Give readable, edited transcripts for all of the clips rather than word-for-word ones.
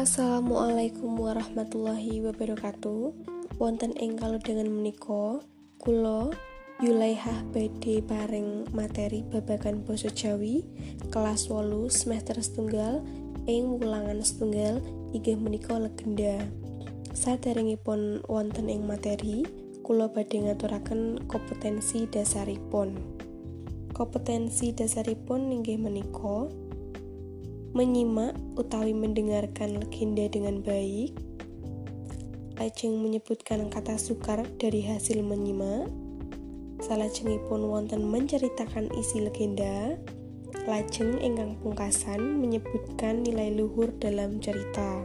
Assalamualaikum warahmatullahi wabarakatuh. Wonten ing kalodhangan menika, kula Yulaihah badhe paring materi babagan basa Jawi kelas 8 semester setunggal ing wulangan setunggal inggih menika legenda. Saderengipun wonten ing materi, kula badhe ngaturaken kompetensi dasaripun. Kompetensi dasaripun inggih menika menyimak utawi mendengarkan legenda dengan baik, lajeng menyebutkan kata sukar dari hasil menyimak, salajengipun wonten menceritakan isi legenda, lajeng ingkang pungkasan menyebutkan nilai luhur dalam cerita.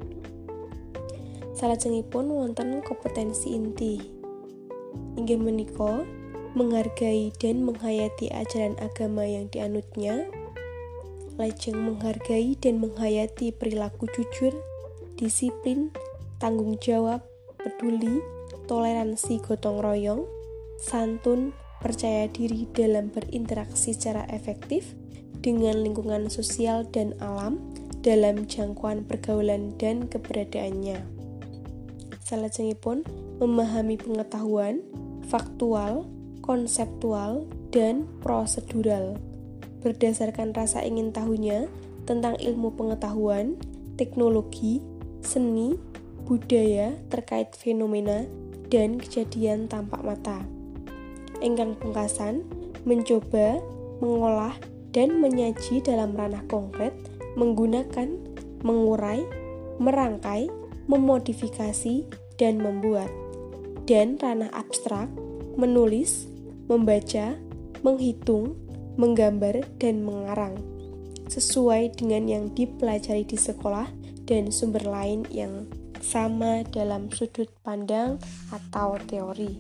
Salajengipun wonten kompetensi inti, inggih menika menghargai dan menghayati ajaran agama yang dianutnya, lajeng menghargai dan menghayati perilaku jujur, disiplin, tanggung jawab, peduli, toleransi gotong royong, santun, percaya diri dalam berinteraksi secara efektif dengan lingkungan sosial dan alam dalam jangkauan pergaulan dan keberadaannya. Salajengipun memahami pengetahuan, faktual, konseptual, dan prosedural berdasarkan rasa ingin tahunya tentang ilmu pengetahuan, teknologi, seni, budaya terkait fenomena dan kejadian tampak mata. Ingkang pungkasan mencoba, mengolah, dan menyaji dalam ranah konkret menggunakan, mengurai, merangkai, memodifikasi, dan membuat. Dan ranah abstrak menulis, membaca, menghitung, menggambar, dan mengarang sesuai dengan yang dipelajari di sekolah dan sumber lain yang sama dalam sudut pandang atau teori.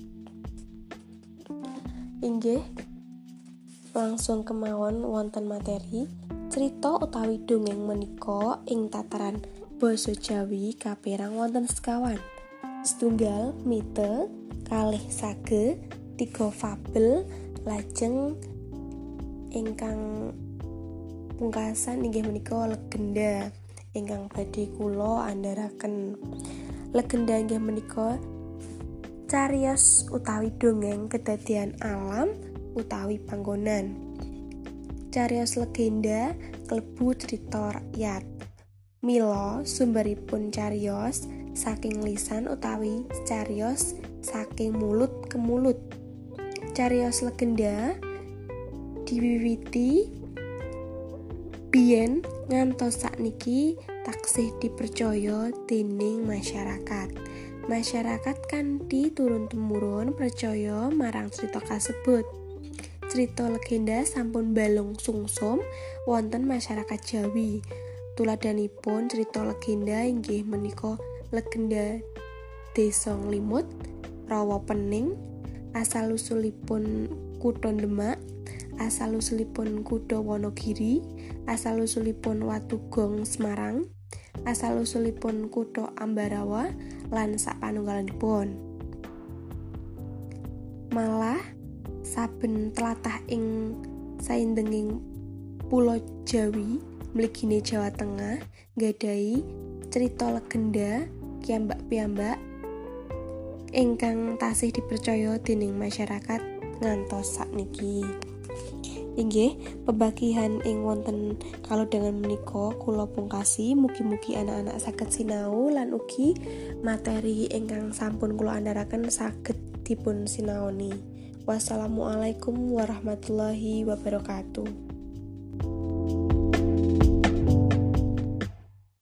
Inggih langsung kemawon wonten materi cerita utawi dongeng menika ing tataran basa Jawi kaperang wonten sekawan. Setunggal mite, kalih sage, 3 fabel, lajeng ingkang pungkasan inggih menika legenda ingkang badhe kula andharaken. Legenda inggih menika cariyos utawi dongeng kedadian alam utawi panggonan. Cariyos legenda klebu crita rakyat. Mila sumberipun cariyos saking lisan utawi cariyos saking mulut ke mulut. Cariyos legenda diwiwiti biyen ngantos sakniki taksih dipercaya dening masyarakat. Masyarakat kanthi turun-temurun percaya marang cerita kasebut. Cerita legenda sampun balung sungsum wonten masyarakat Jawi. Tuladhanipun cerita legenda inggih menika legenda Desa Nglimut, Rawa Pening, asal-usulipun Kutha Demak, asal-usulipun Kutha Wonogiri, asal-usulipun Watugong Semarang, asal-usulipun Kutha Ambarawa, lan sapanunggalipun. Malah saben tlatah ing saindenging pulo Jawi mligine Jawa Tengah nggadhahi cerita legenda piyambak-piyambak ingkang tasih dipercaya dening masyarakat ngantos sakniki. Inggih, pebagihan ing wonten kalodhangan menika kula pungkasi, mugi-mugi anak-anak saged sinau lan ugi materi ingkang sampun kula andharaken saged dipun sinaoni. Wassalamualaikum warahmatullahi wabarakatuh.